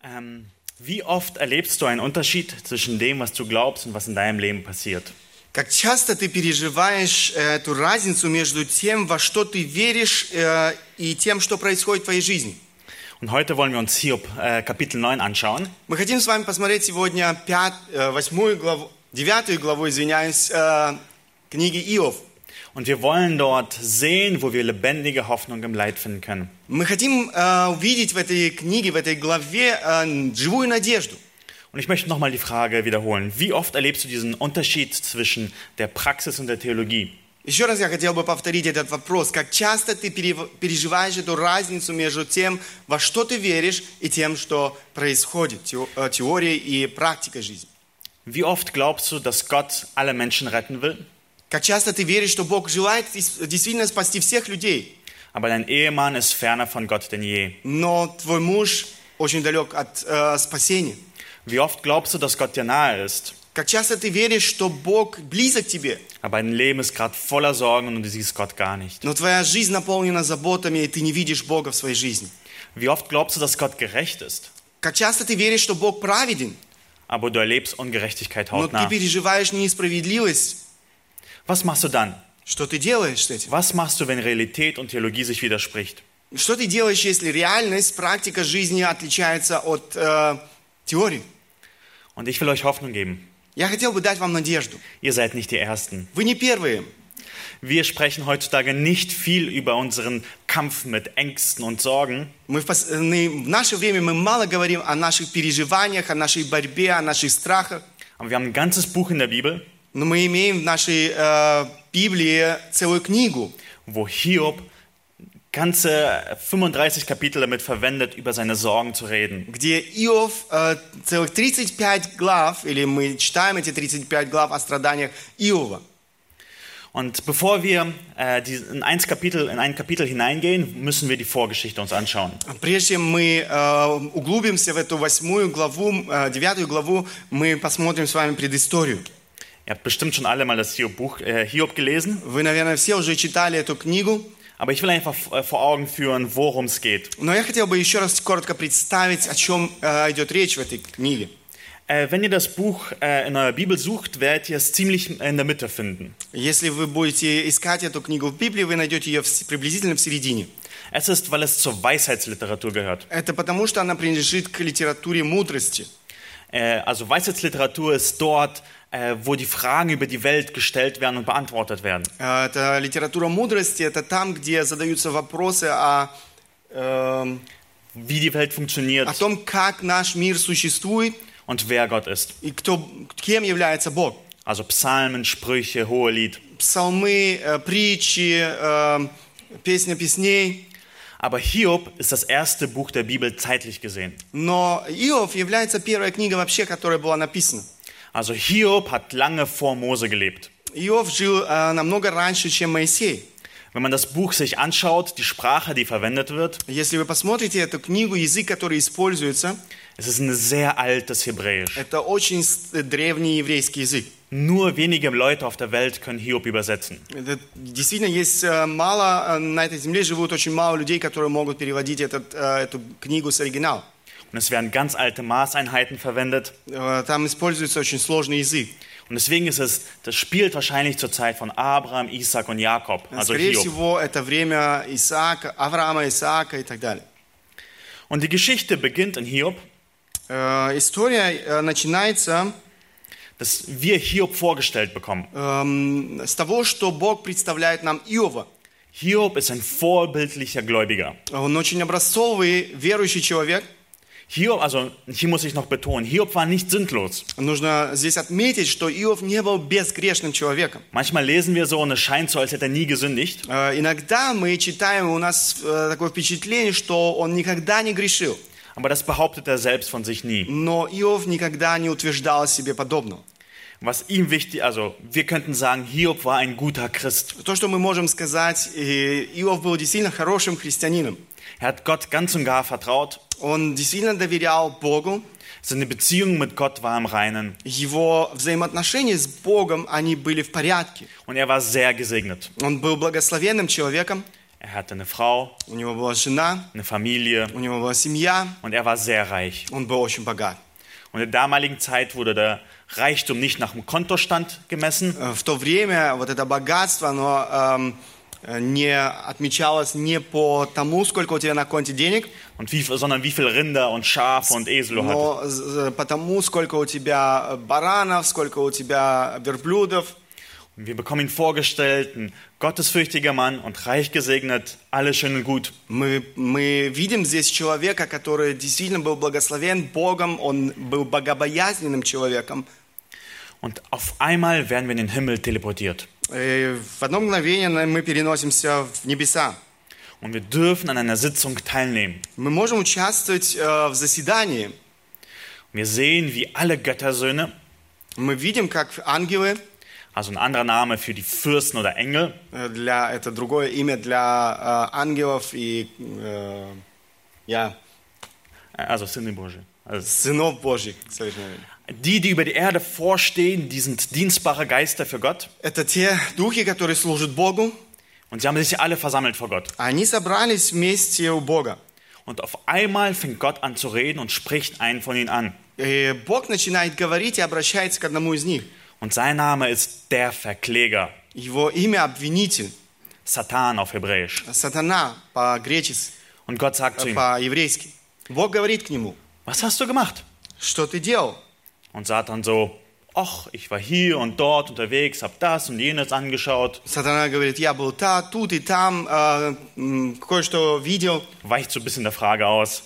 Wie oft erlebst du einen Unterschied zwischen dem, was du glaubst und was in deinem Leben passiert? Как часто ты переживаешь эту разницу между тем, во что ты веришь, и тем, что происходит в твоей жизни? Und heute wollen wir uns Hiob Kapitel 9 anschauen. Мы хотим с вами посмотреть сегодня 9 главу, книги Иов. Und wir wollen dort sehen, wo wir lebendige Hoffnung im Leid finden können. Мы хотим увидеть в этой книге, в этой главе живую надежду. Und ich möchte nochmal die Frage wiederholen. Wie oft erlebst du diesen Unterschied zwischen der Praxis und der Theologie? Еще раз я хотел бы повторить этот вопрос. Как часто ты переживаешь эту разницу между тем, во что ты веришь, и тем, что происходит, теорией и практикой жизни? Wie oft glaubst du, dass Gott alle Menschen retten will? Как часто ты веришь, что Бог желает действительно спасти всех людей, Aber dein Ehemann ist ferner von Gott denn je. но твой муж очень далек от спасения? Wie oft glaubst du, dass Gott dir nahe ist? Как часто ты веришь, что Бог близок к тебе, Aber dein Leben ist gerade voller Sorgen und du siehst Gott gar nicht. но твоя жизнь наполнена заботами, и ты не видишь Бога в своей жизни? Wie oft glaubst du, dass Gott gerecht ist? Как часто ты веришь, что Бог праведен, Aber du erlebst Ungerechtigkeit но ты hautnah. переживаешь несправедливость? Was machst du dann? Что ты делаешь с этим? Was machst du, wenn Realität und Theologie sich widerspricht? Что ты делаешь, если реальность, практика жизни отличается от теории? Und ich will euch Hoffnung geben. Я хотел бы дать вам надежду. Ihr seid nicht die Ersten. Вы не первые. Wir sprechen heutzutage nicht viel über unseren Kampf mit Ängsten und Sorgen. В наше время мы мало говорим о наших переживаниях, о нашей борьбе, о наших страхах. Aber wir haben ein ganzes Buch in der Bibel, Но мы имеем в нашей Библии целую книгу, wo Hiob ganze 35 Kapitel damit verwendet, über seine Sorgen zu reden. где Иов целых 35 глав, или мы читаем эти 35 глав о страданиях Иова. Und bevor wir in ein Kapitel hineingehen, müssen wir die Vorgeschichte uns anschauen. Прежде чем мы углубимся в эту 8 главу, 9 главу, мы посмотрим с вами предысторию. Ihr habt bestimmt schon alle mal das Hiob gelesen, Вы, наверное, все уже читали эту книгу, aber ich will einfach vor Augen führen, worum es geht. но я хотел бы еще раз коротко представить, о чем идет речь в этой книге. Wenn ihr das Buch in eurer Bibel sucht, werdet ihr es ziemlich in der Mitte finden. Если вы будете искать эту книгу в Библии, вы найдете ее приблизительно в середине. Es ist, weil es zur Weisheitsliteratur gehört. Это потому, что она принадлежит к литературе мудрости. Also Weisheitsliteratur ist dort, wo die Fragen über die Welt gestellt werden und beantwortet werden. Это литература мудрости, это там, где задаются вопросы о Wie die Welt funktioniert том, как наш мир существует und wer Gott ist. и кем является Бог. Also Psalmen, Sprüche, Hohelied. Псалмы, притчи, песня песней. Aber Hiob ist das erste Buch der Bibel zeitlich gesehen. Но Иов является первая книга вообще, которая была написана. Also Hiob hat lange vor Mose gelebt. Иов жил намного раньше, чем Моисей. Wenn man das Buch sich anschaut, die Sprache, die verwendet wird, Если вы посмотрите эту книгу, язык, который используется, es ist ein sehr altes Hebräisch. это очень древний еврейский язык. Nur wenige Leute auf der Welt können Hiob übersetzen. Это, действительно, есть мало, на этой земле живут очень мало людей, которые могут переводить эту книгу с оригинала. Und es werden ganz alte Maßeinheiten verwendet. Там используется очень сложный язык. Und deswegen das spielt wahrscheinlich zur Zeit von Abraham, Isaac und Jakob, also Скорее Hiob. всего, это время Авраама, Исаака и так далее. Und die Geschichte beginnt in Hiob, История начинается dass wir Hiob vorgestellt bekommen. с того, что Бог представляет нам Иова. Hiob ist ein vorbildlicher Gläubiger. Он очень образцовый, верующий человек. Hiob, also hier muss ich noch betonen, Hiob war nicht sündlos. Нужно здесь отметить, что Иов не был безгрешным человеком. Manchmal lesen wir so und es scheint so, als hätte er nie gesündigt. Иногда мы читаем, у нас такое впечатление, что он никогда не грешил. Aber das behauptet er selbst von sich nie. Но Иов никогда не утверждал себе подобного. Was ihm wichtig, also wir könnten sagen, Hiob war ein guter Christ. То, что мы можем сказать, Иов был действительно хорошим христианином. Er hat Gott ganz und gar vertraut. Он действительно доверял Богу. Seine Beziehung mit Gott war im Reinen. Его взаимоотношения с Богом, они были в порядке. Und er war sehr gesegnet. Он был благословенным человеком. Er hatte eine Frau, у него была жена, eine Familie у него была семья, und er war sehr reich. он был очень богат. Und in der damaligen Zeit wurde der Reichtum nicht nach dem Kontostand gemessen, В то время вот это богатство, оно не отмечалось не по тому, сколько у тебя на конте денег, sondern wie viel Rinder und Schafe und Esel du hattest. но по тому, сколько у тебя баранов, сколько у тебя верблюдов. Und wir bekommen ihn vorgestellt, ein gottesfürchtiger Mann und reich gesegnet, alles schön und gut. Мы видим здесь человека, который действительно был благословен Богом, он был богобоязненным человеком. Und auf einmal werden wir in den Himmel teleportiert. И в одно мгновение мы переносимся в небеса. Und wir dürfen an einer Sitzung teilnehmen. Мы можем участвовать в заседании. Wir sehen, wie alle Göttersöhne, Мы видим, как ангелы, also ein anderer Name für die Fürsten oder Engel, это другое имя для ангелов и also Söhne Божьи, also сынов Божьих, совершенно верно. die über die Erde vorstehen, die sind dienstbare Geister für Gott. Это те духи, которые служат Богу. Und sie haben sich alle versammelt vor Gott. Они собрались вместе у Бога. Und auf einmal fängt Gott an zu reden und spricht einen von ihnen an. И Бог начинает говорить и обращается к одному из них. Und sein Name ist der Verkläger, Его имя обвинитель, Satan auf Hebräisch. сатана по-гречески, Und Gott sagt zu ihm, по-еврейски. Бог говорит к нему: was hast du gemacht? что ты делал? Und Satan so, ach, ich war hier und dort unterwegs, habe das und jenes angeschaut. Сатана говорит: я был тут и там, кое-что видел. Weicht so ein bisschen der Frage aus.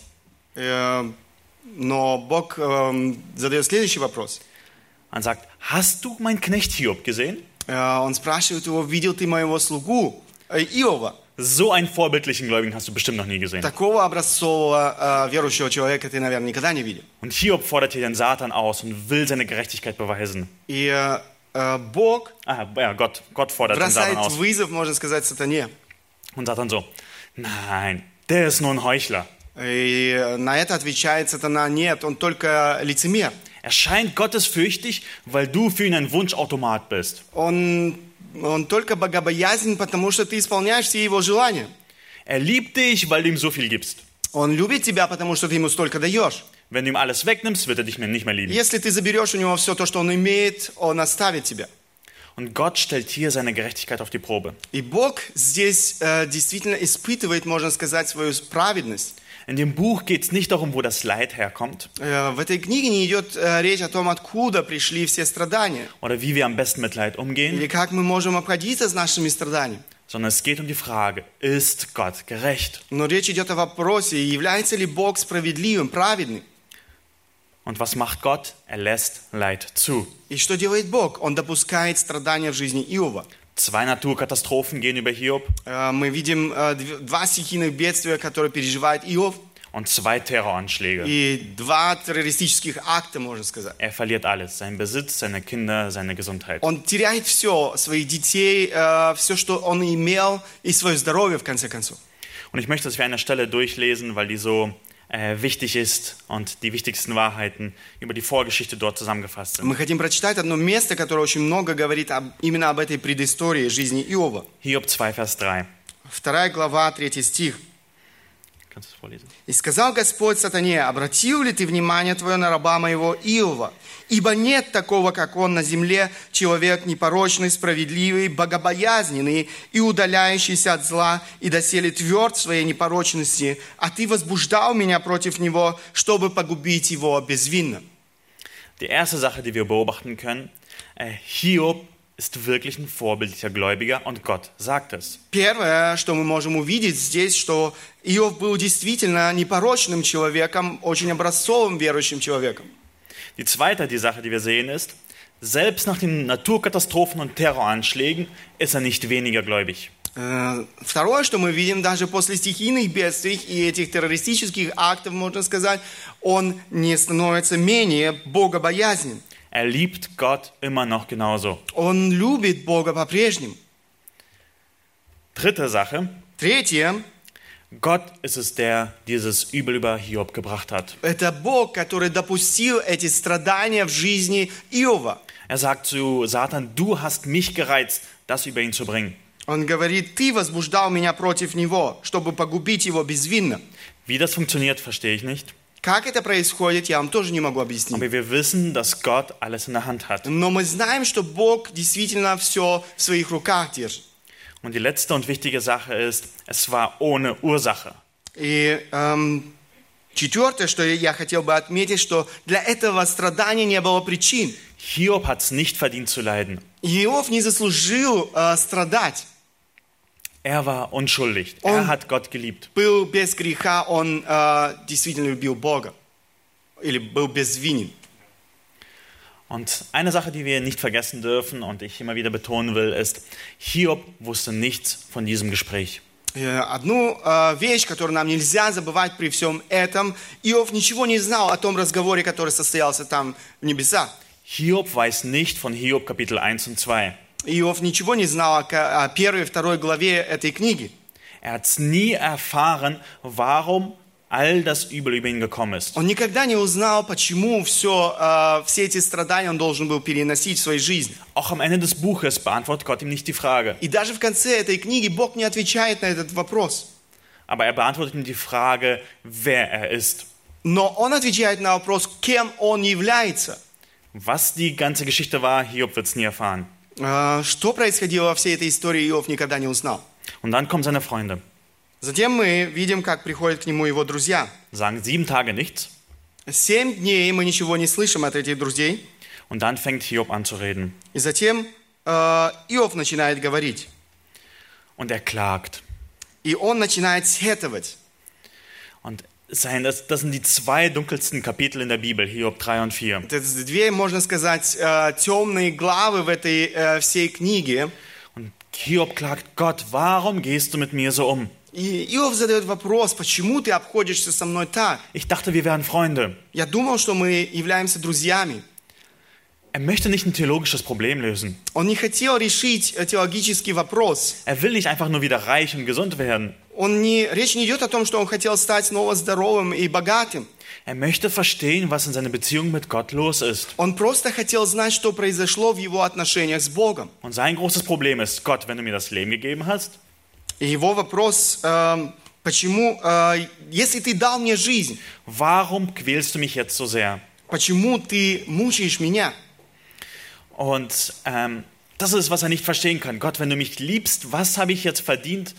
Но Бог задает следующий вопрос. Und sagt, hast du meinen Knecht Hiob gesehen? Он спрашивает его: видел ты моего слугу Иова? So einen vorbildlichen Gläubigen hast du bestimmt noch nie gesehen. Такого образцового верующего человека ты, наверное, никогда не видел. Und Hiob fordert hier den Satan aus und will seine Gerechtigkeit beweisen. И Бог Gott fordert den Satan бросает aus. вызов, можно сказать, сатане. Und Satan so, nein, der ist nur ein Heuchler. И на это отвечает сатана: нет, он только лицемер. Er scheint gottesfürchtig, weil du für ihn ein Wunschautomat bist. Он только богобоязнен, потому что ты исполняешь все его желания. Er liebt dich, weil du ihm so viel gibst. Он любит тебя, потому что ты ему столько даешь. Wenn du ihm alles wegnimmst, wird er dich nicht mehr lieben. Если ты заберешь у него все то, что он имеет, он оставит тебя. Und Gott stellt hier seine Gerechtigkeit auf die Probe. И Бог здесь действительно испытывает, можно сказать, свою праведность. In dem Buch geht es nicht darum, wo das Leid herkommt В этой книге не идет речь о том, откуда пришли все страдания, oder wie wir am besten mit Leid umgehen, или как мы можем обходиться с нашими страданиями. sondern es geht um die Frage, ist Gott gerecht? Но речь идет о вопросе: является ли Бог справедливым, праведным? Und was macht Gott? Er lässt Leid zu. И что делает Бог? Он допускает страдания в жизни Иова. 2 Naturkatastrophen gehen über Hiob Мы видим 2 стихийных бедствия, которые переживает Иов, und 2 Terroranschläge. и 2 террористических акта, можно сказать. Er verliert alles, seinen Besitz, seine Kinder, seine Gesundheit. Он теряет все, своих детей, все, что он имел, и свое здоровье, в конце концов. Und ich möchte, dass wir eine Stelle durchlesen, weil die so wichtig ist und die wichtigsten Wahrheiten über die Vorgeschichte dort zusammengefasst sind. Мы хотим прочитать одно место, которое очень много говорит именно об этой предыстории жизни Иова. Hiob 2, Vers 3. 2 глава, 3 стих. Kannst du es vorlesen? «И сказал Господь сатане: обратил ли ты внимание твое на раба моего Иова? Ибо нет такого, как он на земле, человек непорочный, справедливый, богобоязненный и удаляющийся от зла, и доселе тверд в своей непорочности, а ты возбуждал меня против него, чтобы погубить его безвинно». Die erste Sache, die wir beobachten können, Hiob ist wirklich ein vorbildlicher Gläubiger und Gott sagt es. Первое, что мы можем увидеть здесь, что Иов был действительно непорочным человеком, очень образцовым верующим человеком. Die zweite Sache, die wir sehen, ist, selbst nach den Naturkatastrophen und Terroranschlägen ist er nicht weniger gläubig. Второе, что мы видим, даже после стихийных бедствий и этих террористических актов, можно сказать, он не становится менее богобоязнен. Er liebt Gott immer noch genauso. Он любит Бога по-прежнему. Dritte Sache, Третье, Gott ist es, der dieses Übel über Hiob gebracht hat. это Бог, который допустил эти страдания в жизни Иова. Er sagt zu Satan, du hast mich gereizt, das über ihn zu bringen. Он говорит, ты возбуждал меня против него, чтобы погубить его безвинно. Wie das funktioniert, verstehe ich nicht. Как это происходит, я вам тоже не могу объяснить. Aber wir wissen, dass Gott alles in der Hand hat. Но мы знаем, что Бог действительно все в своих руках держит. Und die letzte und wichtige Sache ist, es war ohne Ursache. И четвертое, что я хотел бы отметить, что для этого страдания не было причин. Hiob hat es nicht verdient zu leiden. Иов не заслужил страдать. Er war unschuldig. Er hat Gott geliebt. Был без греха, он действительно любил Бога. Или был безвинен. Und eine Sache, die wir nicht vergessen dürfen und ich immer wieder betonen will, ist, Hiob wusste nichts von diesem Gespräch. Одну вещь, которую нам нельзя забывать при всем этом, Иов ничего не знал о том разговоре, который состоялся там в небесах. Hiob weiß nicht von Hiob Kapitel 1 und 2. Иов ничего не знал о первой и второй главе этой книги. Er hat es nie erfahren, warum all das Übel über ihn gekommen ist. Он никогда не узнал, почему все эти страдания он должен был переносить в своей жизни. Auch am Ende des Buches beantwortet Gott ihm nicht die Frage. И даже в конце этой книги Бог не отвечает на этот вопрос. Aber er beantwortet ihm die Frage, wer er ist. Но он отвечает на вопрос, кем он является. Was die ganze Geschichte war, Hiob wird es nie erfahren. Что происходило во всей этой истории, Иов никогда не узнал. Und dann kommen seine Freunde. Затем мы видим, как приходят к нему его друзья. Sagen 7 Tage nichts. 7 дней мы ничего не слышим от этих друзей. Und dann fängt Hiob an zu reden. И затем Иов начинает говорить. Und er klagt. И он начинает сетовать. Und das sind die 2 dunkelsten Kapitel in der Bibel, Hiob 3 und 4. Это 2, можно сказать, темные главы в этой всей книге. Und Hiob klagt, Gott, warum gehst du mit mir so um? И Иов задает вопрос, почему ты обходишься со мной так? Ich dachte, wir wären Freunde. Я думал, что мы являемся друзьями. Er möchte nicht ein theologisches Problem lösen. Он не хотел решить теологический вопрос. Er will nicht einfach nur wieder reich und gesund werden. Речь не идет о том, что он хотел стать снова здоровым и богатым. Er möchte verstehen, was in seiner Beziehung mit Gott los ist. Он просто хотел знать, что произошло в его отношениях с Богом. Und sein großes Problem ist, Gott, wenn du mir das Leben gegeben hast, И его вопрос, почему, если ты дал мне жизнь, warum quälst du mich jetzt so sehr? почему ты мучаешь меня? Und das ist, was er nicht verstehen kann. Gott, wenn du mich liebst, was habe ich jetzt verdient,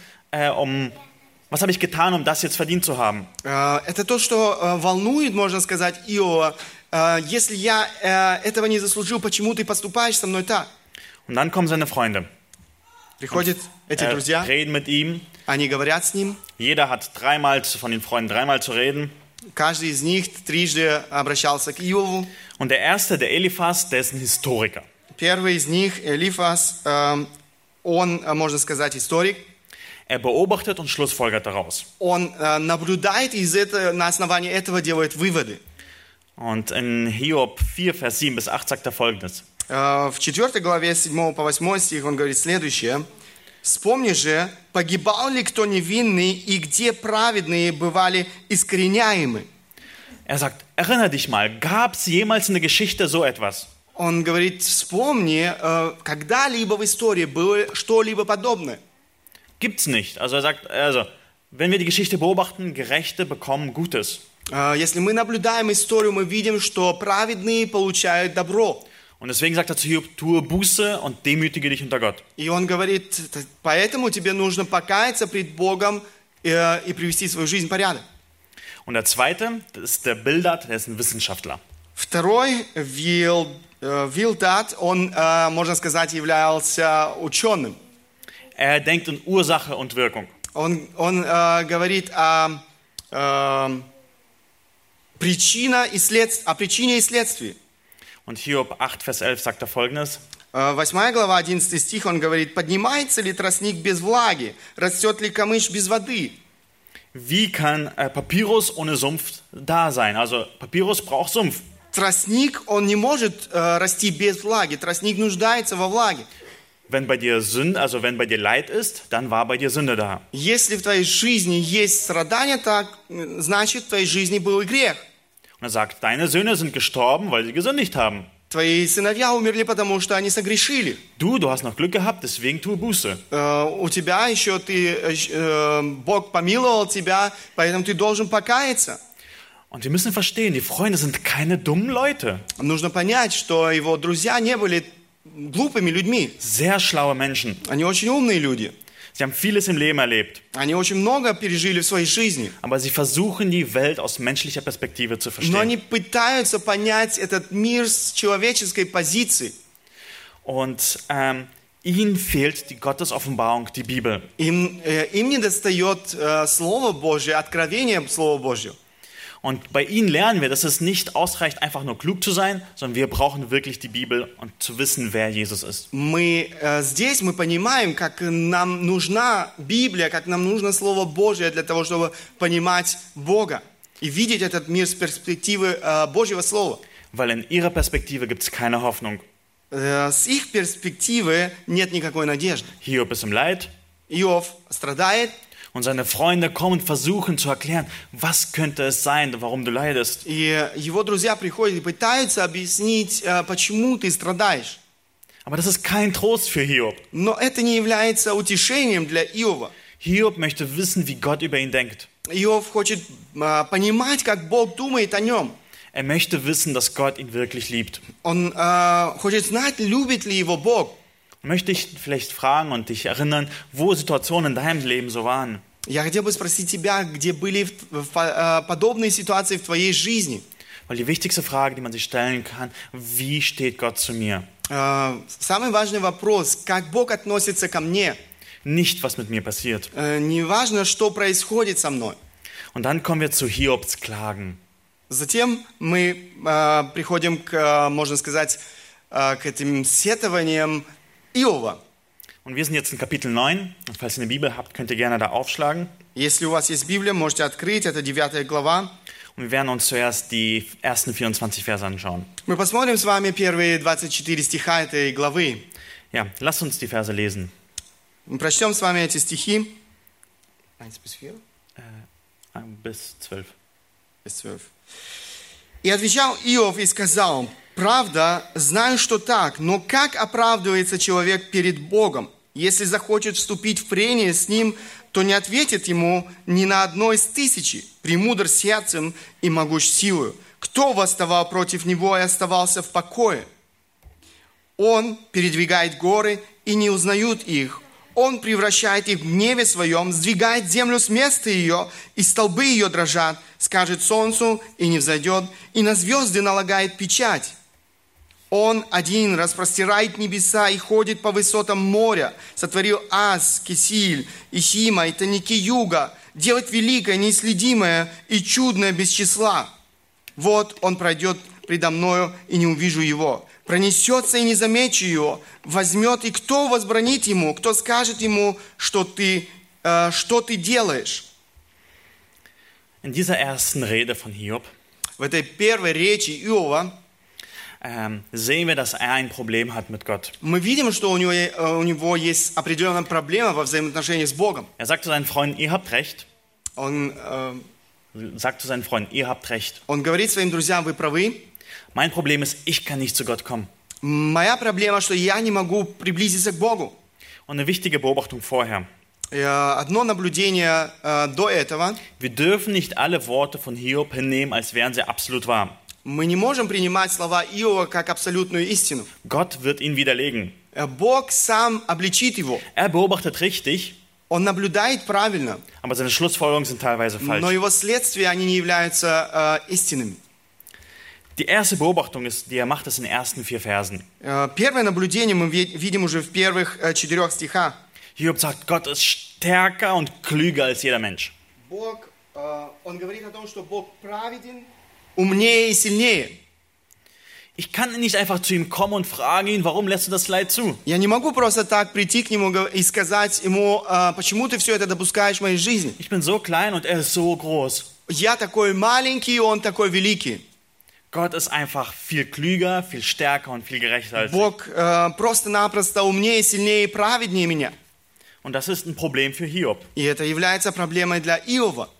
was habe ich getan, um das jetzt verdient zu haben? Это то, что волнует, можно сказать, Иова. Если я этого не заслужил, почему ты поступаешь со мной так? Und dann kommen seine Freunde. Приходят эти друзья, Reden mit ihm. они говорят с ним. Jeder hat von den Freunden dreimal zu reden. Каждый из них трижды обращался к Иову. Und der erste, der Eliphas, der ist ein Historiker. Первый из них, Элифас, он, можно сказать, историк. Er beobachtet und schlussfolgert daraus. Он наблюдает и на основании этого делает выводы. Und in Hiob 4, Vers 7 bis 8 sagt er Folgendes. В 4 главе 7 по 8 стих он говорит следующее. «Вспомни же, погибал ли кто невинный, и где праведные бывали искореняемы?» Er sagt, erinnere dich mal, gab es jemals in der Geschichte so etwas? Он говорит, вспомни, когда-либо в истории было что-либо подобное. Gibt's nicht. Also er sagt, wenn wir die Geschichte beobachten, Gerechte bekommen Gutes. Если мы наблюдаем историю, мы видим, что праведные получают добро. Und deswegen sagt er zu Hiob, tue Buße und demütige dich unter Gott. И он говорит, поэтому тебе нужно покаяться пред Богом и привести свою жизнь в порядок. Und der zweite, das ist der Bildad, der ist ein Wissenschaftler. Второй, Вилдад, он, можно сказать, являлся ученым. Er denkt in Ursache und Wirkung. Он говорит о причине и следствии. Und Hiob 8, Vers 11 sagt er Folgendes. 8 глава, 11 стих, он говорит, «Поднимается ли тростник без влаги? Растет ли камыш без воды?» Wie kann Papyrus ohne Sumpf da sein? Also Papyrus braucht Sumpf. Тростник, он не может расти без влаги. Тростник нуждается во влаге. Wenn bei dir Leid ist, dann war bei dir Sünde da. Если в твоей жизни есть страдания, так значит в твоей жизни был и грех. Und er sagt, deine Söhne sind gestorben, weil sie gesündigt haben. Твои сыновья умерли, потому что они согрешили. Du hast noch Glück gehabt, deswegen tue Buße. У тебя еще Бог помиловал тебя, поэтому ты должен покаяться. Und wir müssen verstehen, die Freunde sind keine dummen Leute. Нужно понять, что его друзья не были глупыми людьми. Sehr schlaue Menschen. Они очень умные люди. Sie haben vieles im Leben erlebt. Они очень много пережили в своей жизни. Aber sie versuchen, die Welt aus menschlicher Perspektive zu Но они verstehen. пытаются понять этот мир с человеческой позиции. Und ihnen fehlt die Gottesoffenbarung, die Bibel. Им недостает Слово Божье, откровение Слова Божьего. Und bei ihnen lernen wir, dass es nicht ausreicht, einfach nur klug zu sein, sondern wir brauchen wirklich die Bibel und zu wissen, wer Jesus ist. Здесь мы понимаем, как нам нужна Библия, как нам нужно Слово Божье для того, чтобы понимать Бога и видеть этот мир с перспективы Божьего Слова. Weil in ihrer Perspektive gibt es keine Hoffnung. С их перспективы нет никакой надежды. Hiob ist im Leid Иов страдает, und seine Freunde kommen und versuchen zu erklären, was könnte es sein, warum du leidest. и его друзья приходят и пытаются объяснить, почему ты страдаешь. Aber das ist kein Trost für Hiob. Но это не является утешением для Иова. Hiob möchte wissen, wie Gott über ihn denkt. Иов хочет понимать, как Бог думает о нем. Er möchte wissen, dass Gott ihn wirklich liebt. Он хочет знать, любит ли его Бог. Möchte ich vielleicht fragen und dich erinnern, wo Situationen in deinem Leben so waren? Я хотел бы спросить тебя, где были подобные ситуации в твоей жизни. Weil die wichtigste Frage, die man sich stellen kann, wie steht Gott zu mir? Самый важный вопрос, как Бог относится ко мне. Nicht, was mit mir passiert. Не важно, что происходит со мной. Und dann kommen wir zu Hiobs Klagen. Затем мы приходим можно сказать, к этим сетованиям Иова. Und wir sind jetzt in Kapitel 9. Und falls ihr eine Bibel habt, könnt ihr gerne da aufschlagen. Если у вас есть Библия, можете открыть, это 9 глава. Und wir werden uns zuerst die ersten 24 Verse anschauen. Мы посмотрим с вами первые 24 стиха этой главы. Ja, lasst uns die Verse lesen. Мы прочтем с вами эти стихи. 1 bis 4? Bis 12. Bis 12. «И отвечал Иов и сказал: правда, знаю, что так, но как оправдывается человек перед Богом? Если захочет вступить в прение с ним, то не ответит ему ни на одно из тысячи, премудр сердцем и могущ силою. Кто восставал против него и оставался в покое? Он передвигает горы, и не узнают их. Он превращает их в гневе своем, сдвигает землю с места ее, и столбы ее дрожат, скажет солнцу, и не взойдет, и на звезды налагает печать. Он один распростирает небеса и ходит по высотам моря, сотворил Аз, Кесиль, Исима и тайники юга, делает великое, неисследимое и чудное без числа. Вот он пройдет предо мною, и не увижу его. Пронесется, и не замечу его. Возьмет, и кто возбранит ему? Кто скажет ему, что ты делаешь?» In dieser ersten Rede von Hiob В этой первой речи Иова sehen wir, dass er ein Problem hat mit Gott. мы видим, что у него есть определенная проблема во взаимоотношении с Богом. Er sagt zu seinen Freunden, ihr habt recht. Он Sagt zu seinen Freunden, ihr habt recht. говорит своим друзьям: вы правы. Mein Problem ist, ich kann nicht zu Gott kommen. Моя проблема, что я не могу приблизиться к Богу. Und eine wichtige Beobachtung vorher. Одно наблюдение до этого. Wir dürfen nicht alle Worte von Hiob hinnehmen, als wären sie absolut wahr. Мы не можем принимать слова Иова как абсолютную истину. Gott wird ihn widerlegen. Бог сам обличит его. Er beobachtet richtig, Он наблюдает правильно, aber seine Schlussfolgerungen sind teilweise но falsch. его следствия, они не являются истинными. Die erste Beobachtung, die er macht, ist in den ersten 4 Versen. Первое наблюдение мы видим уже в первых 4 стихах. Hiob sagt, Gott ist stärker und klüger als jeder Mensch. Он говорит о том, что Бог праведен, умнее и сильнее. Ich kann nicht einfach zu ihm kommen und fragen ihn, warum lässt du das Leid zu? Я не могу просто так прийти к нему и сказать ему: почему ты все это допускаешь в моей жизни? Ich bin so klein und er ist so groß. Я такой маленький, он такой великий. Gott ist einfach viel klüger, viel stärker und viel gerechter als ich. Бог просто-напросто умнее, сильнее и праведнее меня. Und das ist ein Problem für Hiob. И это является проблемой для Иова.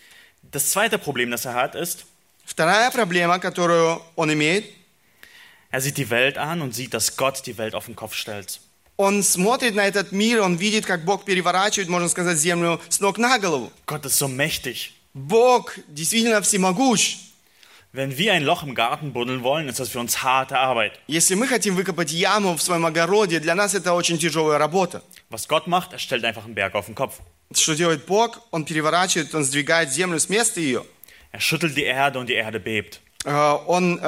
Das zweite Problem, das er hat, ist, Вторая проблема, которую он имеет, Er sieht die Welt an und sieht, dass Gott die Welt auf den Kopf stellt. Он смотрит на этот мир, он видит, как Бог переворачивает, можно сказать, землю с ног на голову. Gott ist so mächtig. Бог действительно всемогущ. Wenn wir ein Loch im Garten buddeln wollen, ist das für uns harte Arbeit. Если мы хотим выкопать яму в своем огороде, для нас это очень тяжелая работа. Was Gott macht, er stellt einfach einen Berg auf den Kopf. Что делает Бог? Он переворачивает, он сдвигает землю с места ее. Er schüttelt die Erde und die Erde bebt. Он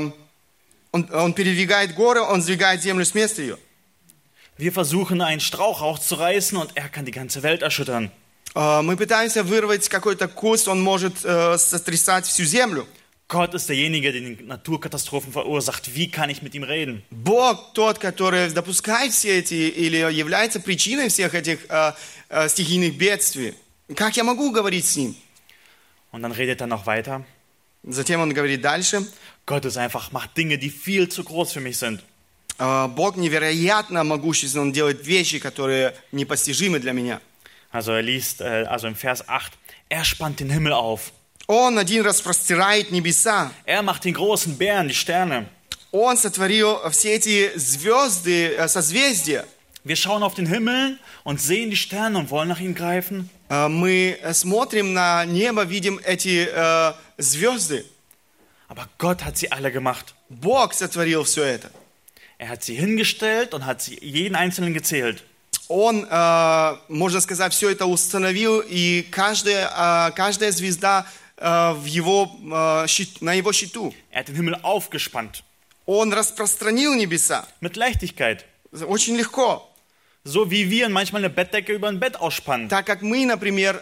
передвигает горы, он сдвигает землю с места ее. Wir versuchen, einen Strauch rauszureißen und er kann die ganze Welt erschüttern. Мы пытаемся вырвать какой-то куст, он может сотрясать всю землю. Gott ist derjenige, der die Naturkatastrophen verursacht. Wie kann ich mit ihm reden? Бог тот, который допускает все эти или является причиной всех этих стихийных бедствий. Как я могу говорить с ним? Und dann redet er noch weiter. Затем он говорит дальше. Gott ist einfach, macht Dinge, die viel zu groß für mich sind. Бог невероятно могуществен, он делает вещи, которые непостижимы для меня. Also er liest, also im Vers 8, er spannt den Himmel auf. Он один распростирает небеса. Er macht den großen Bären, die Sterne. Он сотворил все эти звезды, созвездия. Wir schauen auf den Himmel und sehen die Sterne und wollen nach ihnen greifen. Мы смотрим на небо, видим эти звезды. Aber Gott hat sie alle gemacht. Бог сотворил все это. Er hat sie hingestellt und hat sie jeden einzelnen gezählt. Он, можно сказать, все это установил, и каждая звезда на его счету. Er hat den Himmel aufgespannt. Он распространил небеса. Mit Leichtigkeit. Очень легко. So wie wir manchmal eine Bettdecke über ein Bett ausspannen. Так как мы, например,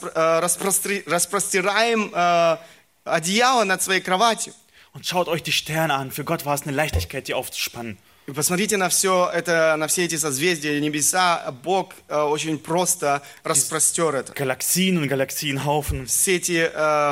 распростираем одеяло над своей кроватью. Und schaut euch die Sterne an. Für Gott war es eine Leichtigkeit, die aufzuspannen. И посмотрите на все это, на все эти созвездия, небеса. Бог очень просто распростер это. Galaxien und Galaxienhaufen. Все эти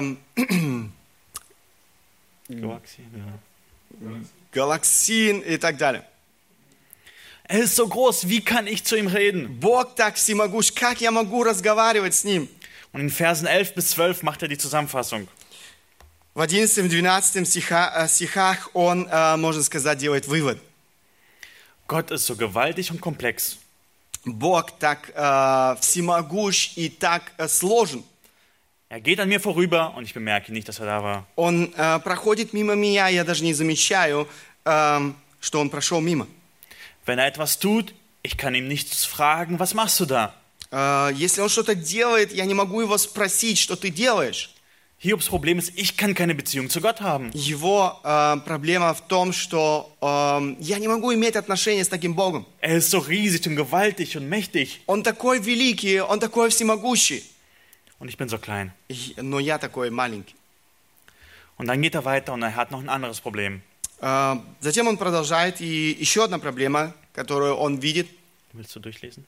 галаксии и так далее. Er ist so groß, wie kann ich zu ihm reden? Бог так всемогущ, как я могу разговаривать с ним? Und in Versen 11 bis 12 macht er die Zusammenfassung. В 11-12 стихах он, можно сказать, делает вывод. Gott ist so gewaltig und komplex. Бог так всемогущ и так сложен. Er geht an mir vorüber und ich bemerke nicht, dass er da war. Он проходит мимо меня, я даже не замечаю, что он прошел мимо. Wenn er etwas tut, ich kann ihm nichts fragen, was machst du da? Если он что-то делает, я не могу его спросить, что ты делаешь. Hiobs Problem ist, ich kann keine Beziehung zu Gott haben. Его проблема в том, что я не могу иметь отношения с таким Богом. Er ist so riesig und gewaltig und mächtig. Он такой великий, он такой всемогущий. Und ich bin so klein. Но я такой маленький. Und dann geht er weiter und er hat noch ein anderes Problem. Затем он продолжает, и еще одна проблема, которую он видит. Willst du durchlesen?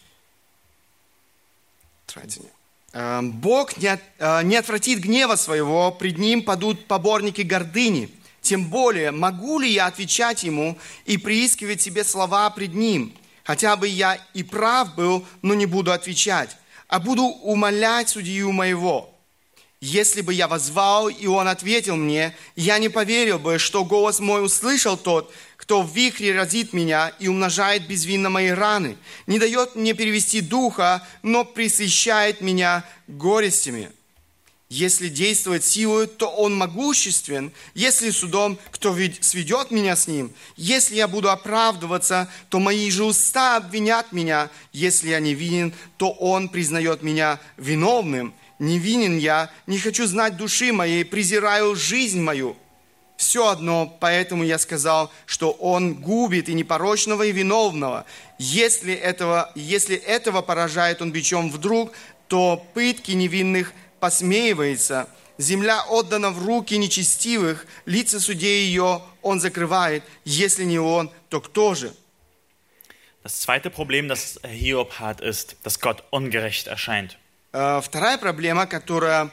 Бог не отвратит гнева своего, пред ним падут поборники гордыни. Тем более, могу ли я отвечать ему и приискивать себе слова пред ним? Хотя бы я и прав был, но не буду отвечать, а буду умолять судью моего. Если бы я воззвал, и он ответил мне, я не поверил бы, что голос мой услышал тот, кто в вихре разит меня и умножает безвинно мои раны, не дает мне перевести духа, но пресыщает меня горестями. Если действует силой, то он могуществен. Если судом, кто сведет меня с ним? Если я буду оправдываться, то мои же уста обвинят меня. Если я невинен, то он признает меня виновным. Невинен я, не хочу знать души моей, презираю жизнь мою. Все одно, поэтому я сказал, что он губит и непорочного, и виновного. Если этого поражает он бичом вдруг, то пытки невинных посмеивается. Земля отдана в руки нечестивых, лица судей ее он закрывает. Если не он, то кто же? Das zweite Problem, das Hiob hat, ist, dass Gott ungerecht erscheint. Вторая проблема, которую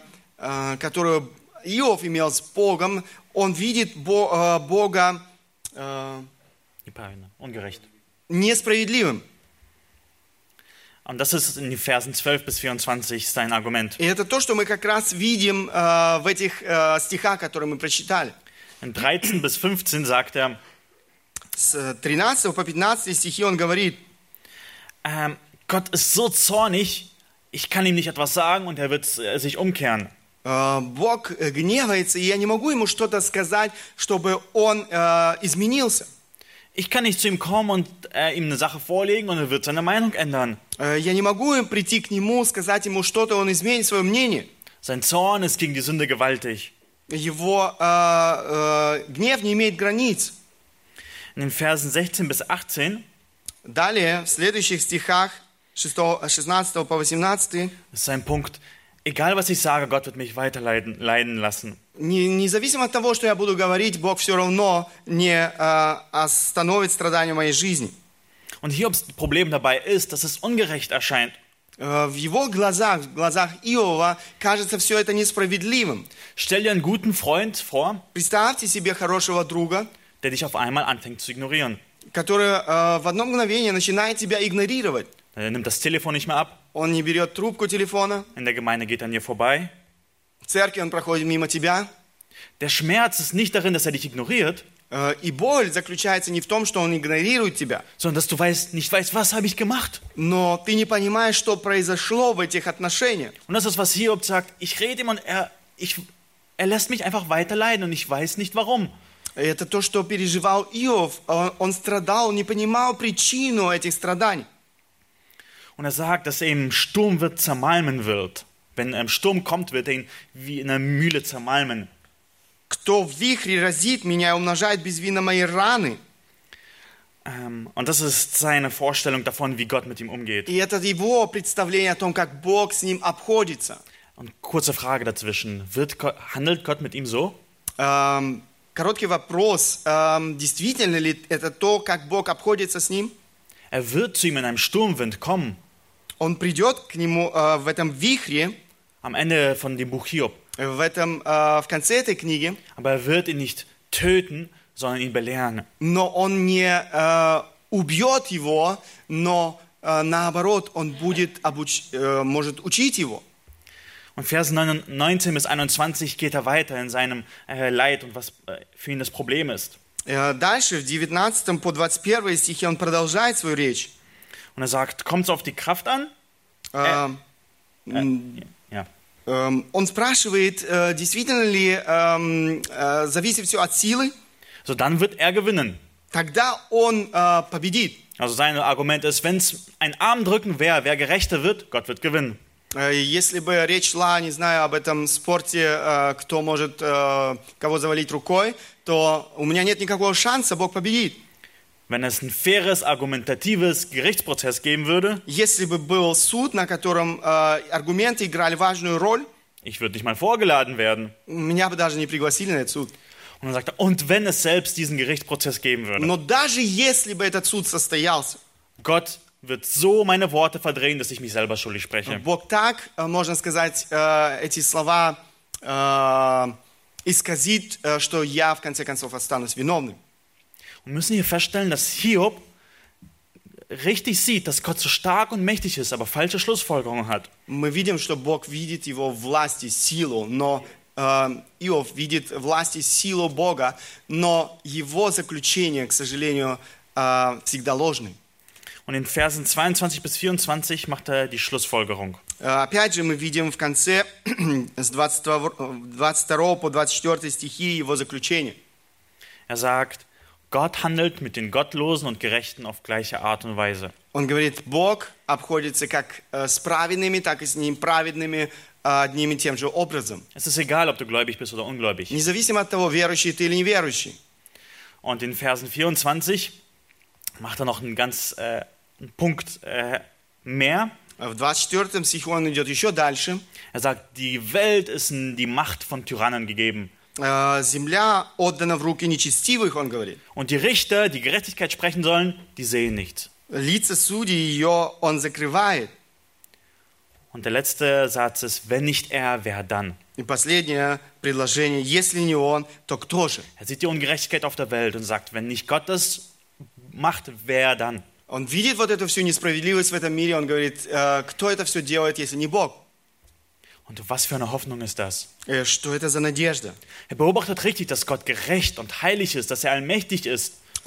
Иов имел с Богом, он видит Бога ungerecht. Несправедливым. Und das ist in den Versen 12 bis 24 sein Argument. И это то, что мы как раз видим в этих стихах, которые мы прочитали. In 13 bis 15 sagt er, с 13 по 15 стихи он говорит, Gott ist so zornig, ich kann ihm nicht etwas sagen und er wird sich umkehren. Бог гневается, и я не могу ему что-то сказать, чтобы он изменился. Ich kann nicht zu ihm kommen und ihm eine Sache vorlegen und er wird seine Meinung ändern. Я не могу прийти к нему, сказать ему что-то, он изменит свое мнение. Sein Zorn ist gegen die Sünde gewaltig. Его гнев не имеет границ. In den Versen 16 bis 18 Далее, в следующих стихах, 16 по 18, ist sein Punkt, egal was ich sage, Gott wird mich leiden lassen. независимо от того, что я буду говорить, Бог все равно не остановит страдания моей жизни. Und Hiobs Problem dabei ist, dass es ungerecht erscheint. В его глазах, в глазах Иова, кажется все это несправедливым. Stell dir einen guten Freund vor, Представьте себе хорошего друга, der dich auf einmal anfängt zu ignorieren. который в одно мгновение начинает тебя игнорировать. Er nimmt das Telefon nicht mehr ab, Он не берет трубку телефона, in der Gemeinde geht er an dir vorbei. в церкви он проходит мимо тебя. Der Schmerz ist nicht darin, dass er dich ignoriert, И боль заключается не в том, что он игнорирует тебя, sondern dass du nicht weißt, was habe ich gemacht. но ты не понимаешь, что произошло в этих отношениях. Und das ist, was Hiob sagt. Ich rede ihm und er lässt mich einfach weiter leiden und ich weiß nicht warum. Это то, что переживал Иов. Он страдал, он не понимал причину этих страданий. Und er sagt, dass er im Sturm zermalmen wird. Wenn er im Sturm kommt, wird er ihn wie in einer Mühle zermalmen. Кто в вихре разит меня и умножает безвинно мои раны. Und das ist seine Vorstellung davon, wie Gott mit ihm umgeht. И это его представление о том, как Бог с ним обходится. Und kurze Frage dazwischen. Handelt Gott mit ihm so? Короткий вопрос. Действительно ли это то, как Бог обходится с ним? Er wird zu ihm in einem Sturmwind kommen. Он придет к нему в этом вихре, Am Ende von dem Buch Hiob. в конце этой книги, Aber er wird ihn nicht töten, sondern ihn belehren. но он не убьет его, но наоборот, он может учить его. Und Verse 19 bis 21 geht er weiter in seinem Leid und was für ihn das Problem ist. Дальше, в 19 по 21 стихе, он продолжает свою речь. Und er sagt, kommt es auf die Kraft an? Ja. Он спрашивает, действительно ли зависит все от силы? So, dann wird er gewinnen. Тогда он победит. Also sein Argument ist, wenn es ein Armdrücken wäre, wer gerechter wird, Gott wird gewinnen. Если бы речь шла, не знаю, об этом спорте, кто может кого завалить рукой, то у меня нет никакого шанса, Бог победит. Wenn es ein faires, argumentatives Gerichtsprozess geben würde, Если бы был суд, на котором аргументы играли важную роль, ich würde nicht mal vorgeladen werden. меня бы даже не пригласили на этот суд. Und dann sagt er, und wenn es selbst diesen Gerichtsprozess geben würde, Но даже если бы этот суд состоялся, Gott wird so meine Worte verdrehen, dass ich mich selber schuldig spreche. Бог так, можно сказать, эти слова исказит, что я в конце концов останусь виновным. Und müssen hier feststellen, dass Hiob richtig sieht, dass Gott so stark und mächtig ist, aber falsche Schlussfolgerungen hat. Мы видим, что Бог видит его власть и силу, но Иов видит власть и силу Бога, но его заключение, к сожалению, всегда ложное. Und in Versen 22 bis 24 macht er die Schlussfolgerung. Опять же, мы видим в конце с 22 по 24 стихи его заключение. Er sagt, Gott handelt mit den Gottlosen und Gerechten auf gleiche Art und Weise. Он говорит, Бог обходится как с праведными, так и с неправедными одним и тем же образом. Es ist egal, ob du gläubig bist oder ungläubig. Независимо от того, верующий ты или неверующий. Und in Versen 24 macht er noch einen Punkt mehr. В 24 стихе он идет еще дальше. Er sagt, die Welt ist in die Macht von Tyrannen gegeben. Земля отдана в руки нечестивых, он говорит. Und die Richter, die Gerechtigkeit sprechen sollen, die sehen nichts. Лица судей ее он закрывает. Und der letzte Satz ist, wenn nicht er, wer dann? И последнее предложение, если не он, то кто же? Er sieht die Ungerechtigkeit auf der Welt und sagt, wenn nicht Gott das macht, wer dann? Он видит вот эту всю несправедливость в этом мире, он говорит, кто это все делает, если не Бог? Und was für eine Hoffnung ist das? Что это за надежда? Er beobachtet richtig, dass Gott gerecht und heilig ist, dass er allmächtig ist.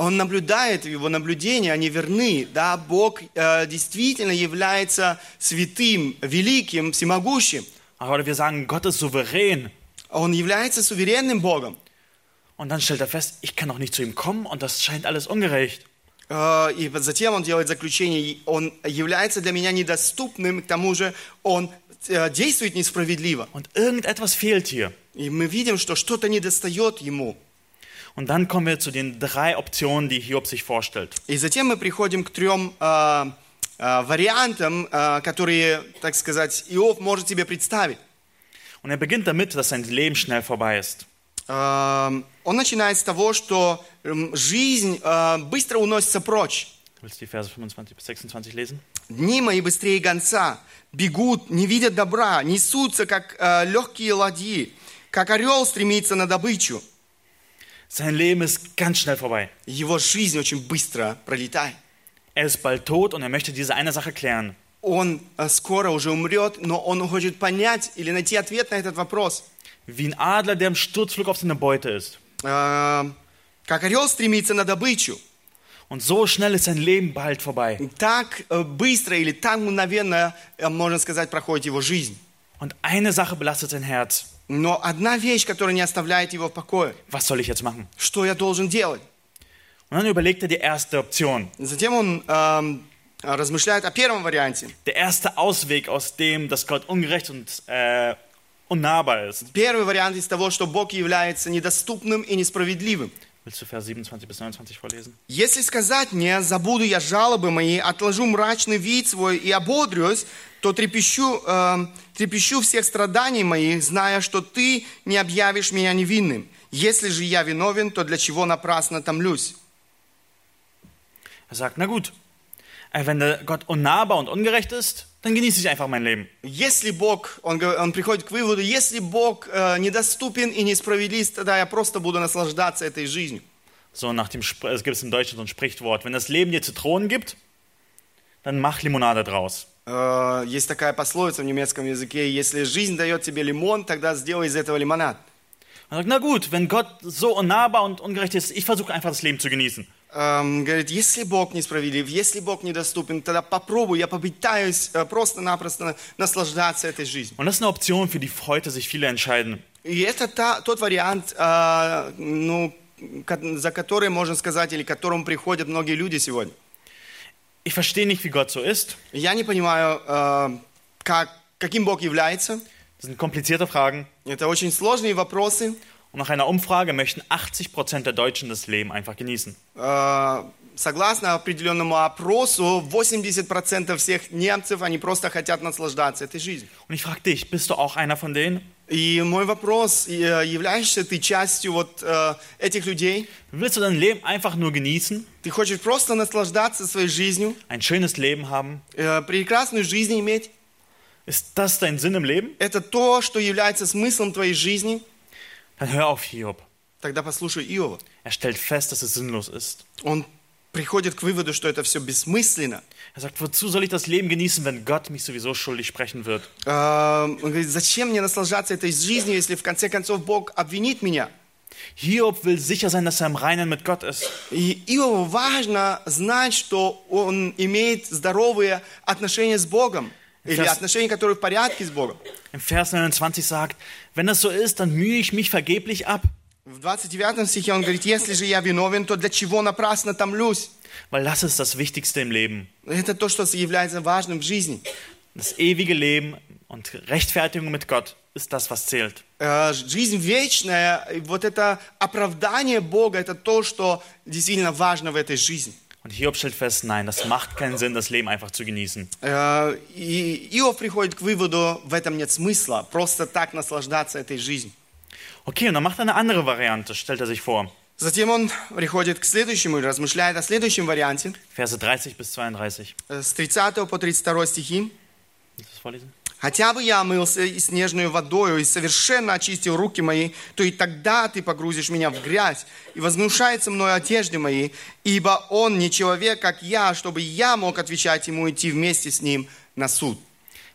Он наблюдает, его наблюдения, они верны. Да, Бог действительно является святым, великим, всемогущим. Aber wir sagen, Gott ist souverän. Он является суверенным Богом. Und dann stellt er fest, ich kann doch nicht zu ihm kommen und das scheint alles ungerecht. И затем он делает заключение, он является для меня недоступным, к тому же он действует несправедливо. Und irgendetwas fehlt hier. И мы видим, что что-то недостает ему. Und dann kommen wir zu den 3 Optionen, die Hiob sich vorstellt. И затем мы приходим к 3 вариантам, которые, так сказать, Иов может себе представить. Und er beginnt damit, dass sein Leben schnell vorbei ist. Он начинает с того, что жизнь быстро уносится прочь. Willst du die Verse 25 bis 26 lesen? Дни мои быстрее гонца, бегут, не видят добра, несутся, как легкие ладьи, как орел стремится на добычу. Sein Leben ist ganz schnell vorbei. Его жизнь очень быстро пролетает. Er ist bald tot und er möchte diese eine Sache klären. Он скоро уже умрет, но он хочет понять или найти ответ на этот вопрос. Wie ein Adler, der im Sturzflug auf seine Beute ist. Как орел стремится на добычу. Und so schnell ist sein Leben bald vorbei. Так быстро или так мгновенно, можно сказать, проходит его жизнь. Und eine Sache belastet sein Herz. Но одна вещь, которая не оставляет его в покое. Was soll ich jetzt machen? Что я должен делать? Und dann überlegt er die erste Option. Затем он размышляет о первом варианте. Der erste Ausweg aus dem, dass Gott ungerecht und unnahbar ist. Первый вариант из того, что Бог является недоступным и несправедливым. Willst du Vers 27 bis 29 vorlesen? Если сказать мне, забуду я жалобы мои, отложу мрачный вид свой и ободрюсь, то трепещу всех страданий моих, зная, что ты не объявишь меня невинным. Если же я виновен, то для чего напрасно томлюсь? Er sagt, na gut, wenn der Gott unnahbar und ungerecht ist, dann genieße ich einfach mein Leben. Если Бог, он приходит к выводу, если Бог недоступен и несправедлив, тогда я просто буду наслаждаться этой жизнью. So nach dem, es gibt im Deutschen so ein Sprichwort, wenn das Leben dir Zitronen gibt, dann mach Limonade draus. Есть такая пословица в немецком языке, если жизнь дает тебе лимон, тогда сделай из этого лимонад. Er sagt, na gut, wenn Gott so unnahbar und ungerecht ist, ich versuche einfach das Leben zu genießen. Говорит, если Бог несправедлив, если Бог недоступен, тогда попробуй, я попытаюсь просто-напросто наслаждаться этой жизнью. Und das ist eine Option, für die heute sich viele entscheiden. И это тот вариант, за который, можно сказать, или к которому приходят многие люди сегодня. Ich verstehe nicht, wie Gott so ist. Я не понимаю, каким Бог является. Das sind komplizierte Fragen. Это очень сложные вопросы. Und nach einer Umfrage möchten 80% der Deutschen das Leben einfach genießen. Согласно определенному опросу, 80% всех немцев, они просто хотят наслаждаться этой жизнью. Und ich frage dich, bist du auch einer von denen? И мой вопрос, являешься ты частью вот этих людей? Willst du dein Leben einfach nur genießen? Ты хочешь просто наслаждаться своей жизнью? Ein schönes Leben haben? Прекрасную жизнь иметь? Ist das dein Sinn im Leben? Это то, что является смыслом твоей жизни? Dann hör auf Hiob. Тогда послушай Иова. Er stellt fest, dass es sinnlos ist. Он приходит к выводу, что это все бессмысленно. Er sagt, wozu soll ich das Leben genießen, wenn Gott mich sowieso schuldig sprechen wird? Он говорит, зачем мне наслаждаться этой жизнью, если в конце концов Бог обвинит меня? Hiob will sicher sein, dass er im Reinen mit Gott ist. И Иову важно знать, что он имеет здоровые отношения с Богом. Или отношения, которые в порядке с Богом. Im Vers 29 sagt, wenn das so ist, dann mühe ich mich vergeblich ab. В 29 стихе он говорит, если же я виновен, то для чего напрасно томлюсь? Weil das ist das Wichtigste im Leben. Это то, что является важным в жизни. Das ewige Leben und Rechtfertigung mit Gott ist das, was zählt. Жизнь вечная, вот это оправдание Бога, это то, что действительно важно в этой жизни. Und Hiob stellt fest, nein, das macht keinen Sinn, das Leben einfach zu genießen. И Иов приходит к выводу, в этом нет смысла, просто так наслаждаться этой жизнью. Okay, und dann macht er eine andere Variante, stellt er sich vor. Затем он приходит к следующему и размышляет о следующем варианте. Verse 30 bis 32. С 30 по 32 стихи. Willst du das vorlesen? «Хотя бы я омылся и снежной водою, и совершенно очистил руки мои, то и тогда ты погрузишь меня в грязь, и возгнушаются мною одежды мои, ибо он не человек, как я, чтобы я мог отвечать ему и идти вместе с ним на суд».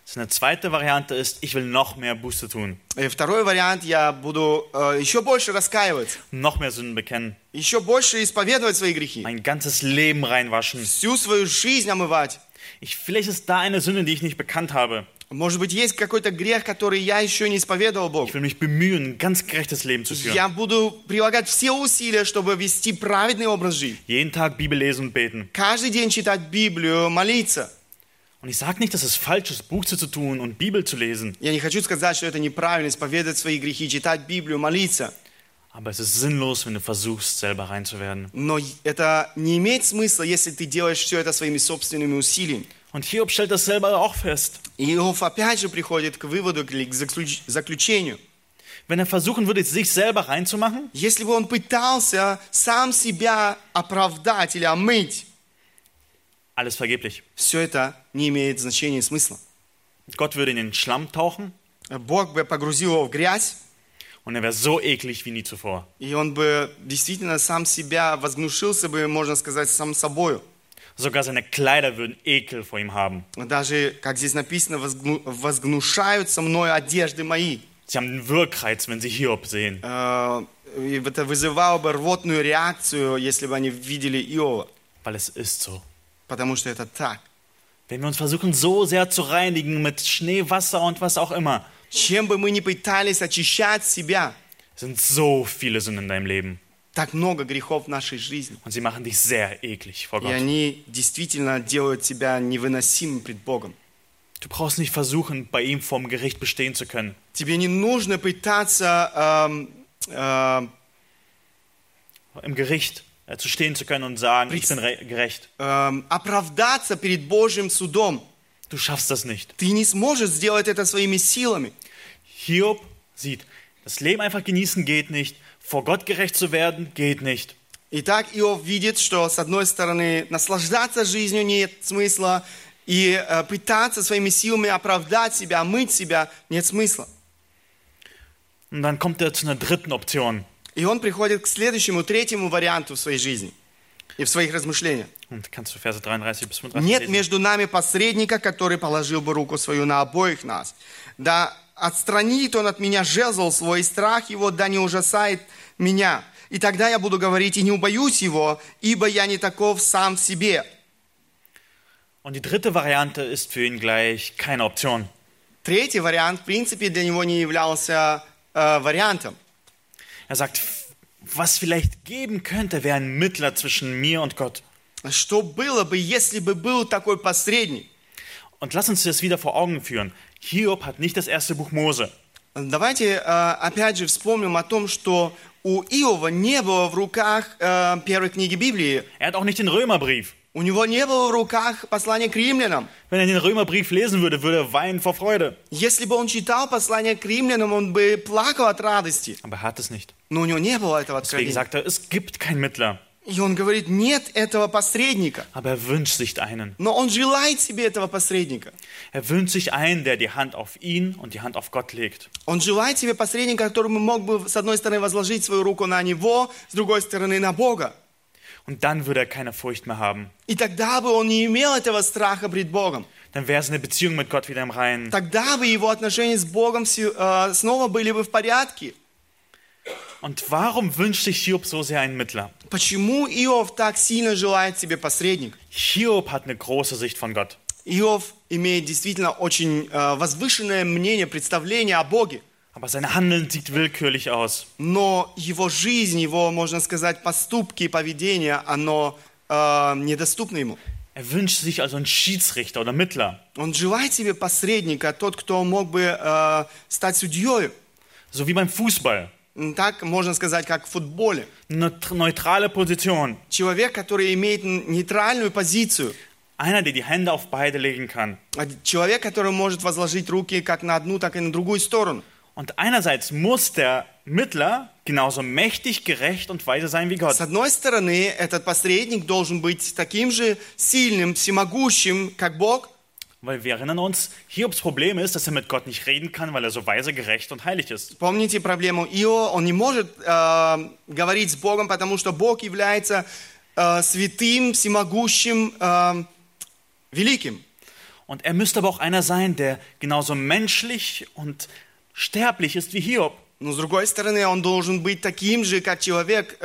Eine zweite Variante ist, ich will noch mehr Buße tun, И второй вариант, я буду еще больше раскаиваться, noch mehr Sünden bekennen, еще больше исповедовать свои грехи, mein ganzes Leben reinwaschen. всю свою жизнь омывать. Vielleicht ist da eine Sünde, die ich nicht bekannt habe. Может быть, есть какой-то грех, который я еще не исповедовал Богу. Ich will mich bemühen, ein ganz gerechtes Leben zu führen. Я буду прилагать все усилия, чтобы вести праведный образ жизни. Jeden Tag Bibel lesen und beten. Каждый день читать Библию, молиться. Und ich sage nicht, dass es falsch ist, Buße zu tun und Bibel zu lesen. Я не хочу сказать, что это неправильно, исповедовать свои грехи, читать Библию, молиться. Aber es ist sinnlos, wenn du versuchst, selber rein zu werden. Но это не имеет смысла, если ты делаешь все это своими собственными усилиями. Und Hiob stellt das selber auch fest. И Иов опять же приходит к выводу, к заключению. Wenn er versuchen würde, sich selber reinzumachen, Если бы он пытался сам себя оправдать или омыть, alles vergeblich. все это не имеет значения и смысла. Gott würde in den Schlamm tauchen Бог бы погрузил его в грязь, und er wäre so eklig wie nie zuvor. и он бы действительно сам себя возгнушился бы, можно сказать, сам собою. Sogar seine Kleider würden Ekel vor ihm haben. Даже, как здесь написано, возгнушаются мною одежды мои. Sie haben einen Wirkreiz, wenn sie Hiob sehen. И это вызывало бы рвотную реакцию, если бы они видели Иова. Weil es ist so. Потому что это так. Wenn wir uns versuchen, so sehr zu reinigen mit Schnee, Wasser und was auch immer, Чем бы мы ни пытались очищать себя, sind so viele Sünden in deinem Leben. так много грехов в нашей жизни. Und sie machen dich sehr eklig vor И Gott. они действительно делают тебя невыносимым пред Богом. Du brauchst nicht versuchen, bei ihm vorm Gericht bestehen zu können. Тебе не нужно пытаться Im Gericht zu stehen zu können und sagen, ich bin gerecht. оправдаться перед Божьим судом. Du schaffst das nicht. Ты не сможешь сделать это своими силами. Hiob sieht, das Leben einfach genießen geht nicht, vor Gott gerecht zu werden geht nicht. Итак, Иов видит, что с одной стороны наслаждаться жизнью нет смысла, и пытаться своими силами оправдать себя, омыть себя нет смысла. Und dann kommt er zu einer dritten Option. И он приходит к следующему, третьему варианту в своей жизни и в своих размышлениях. Und kannst du Verse 33 bis 35 Нет lesen? между нами посредника, который положил бы руку свою на обоих нас. Да отстранит он от меня жезл свой, и страх его да не ужасает меня. И тогда я буду говорить, и не убоюсь его, ибо я не таков сам в себе. Und die dritte Variante ist für ihn gleich keine Option. Третий вариант, в принципе, для него не являлся вариантом. Er sagt, was vielleicht geben könnte, wäre ein Mittler zwischen mir und Gott. Что было бы, если бы был такой посредник? Und lass uns das wieder vor Augen führen. Hiob hat nicht das erste Buch Mose. Давайте опять же вспомним о том, что у Иова не было в руках первой книги Библии. Er hat auch nicht den Römerbrief. У него не было в руках послание к римлянам. Wenn er den Römerbrief lesen würde, würde er weinen vor Freude. Если бы он читал послание к римлянам, он бы плакал от радости. Aber er hat es nicht. Но у него не было этого Deswegen откровения. sagt er, es gibt keinen Mittler. И он говорит, нет этого посредника. Aber er wünscht sich einen. Но он желает себе этого посредника. Er wünscht sich einen, der die Hand auf ihn und die Hand auf Gott legt. Он желает себе посредника, который мог бы, с одной стороны, возложить свою руку на него, с другой стороны, на Бога. Und dann würde er keine Furcht mehr haben. И тогда бы он не имел этого страха пред Богом. Dann wäre seine Beziehung mit Gott wieder im Reinen. Тогда бы его отношения с Богом снова были бы в порядке. Und warum wünscht sich Hiob so sehr einen Mittler? Почему Иов так сильно желает себе посредника? Hiob hat eine große Sicht von Gott. Иов имеет действительно очень возвышенное мнение, представление о Боге. Aber sein Handeln sieht willkürlich aus. Но его жизнь, его, можно сказать, поступки и поведение, оно недоступно ему. Er wünscht sich also einen Schiedsrichter oder Mittler. Он желает себе посредника, тот, кто мог бы стать судьей. So wie beim Fußball. Так можно сказать, как в футболе. Eine neutrale Position. Человек, который имеет нейтральную позицию. Einer, der die Hände auf beide legen kann. Человек, который может возложить руки как на одну, так и на другую сторону. Und einerseits muss der Mittler genauso mächtig, gerecht und weise sein wie Gott. С одной стороны, этот посредник должен быть таким же сильным, всемогущим, как Бог. Weil wir erinnern uns, Hiobs Problem ist, dass er mit Gott nicht reden kann, weil er so weise, gerecht und heilig ist. Помните проблему Иова? Он не может говорить с Богом, потому что Бог является святым, всемогущим, великим. Und er müsste aber auch einer sein, der genauso menschlich und sterblich ist wie Hiob. Но с другой стороны, он должен быть таким же, как человек,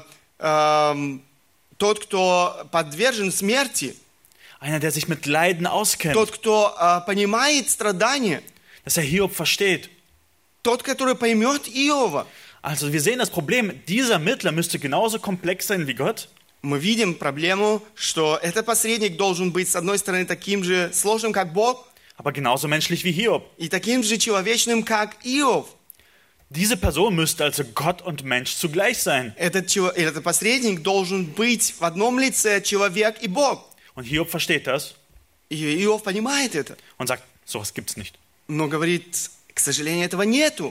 тот, кто подвержен смерти, Einer, der sich mit Leiden auskennt, тот, кто понимает страдания, dass er Hiob versteht. тот, который поймет Иова. Also wir sehen das Problem, dieser Mittler müsste genauso komplex sein wie Gott. Мы видим проблему, что этот посредник должен быть, с одной стороны, таким же сложным, как Бог, Aber genauso menschlich wie Hiob. и таким же человечным, как Иов. Diese Person müsste also Gott und Mensch zugleich sein. Этот посредник должен быть в одном лице человек и Бог. Und Hiob versteht das И Иов понимает это, und sagt, sowas gibt's nicht. но говорит, к сожалению, этого нету.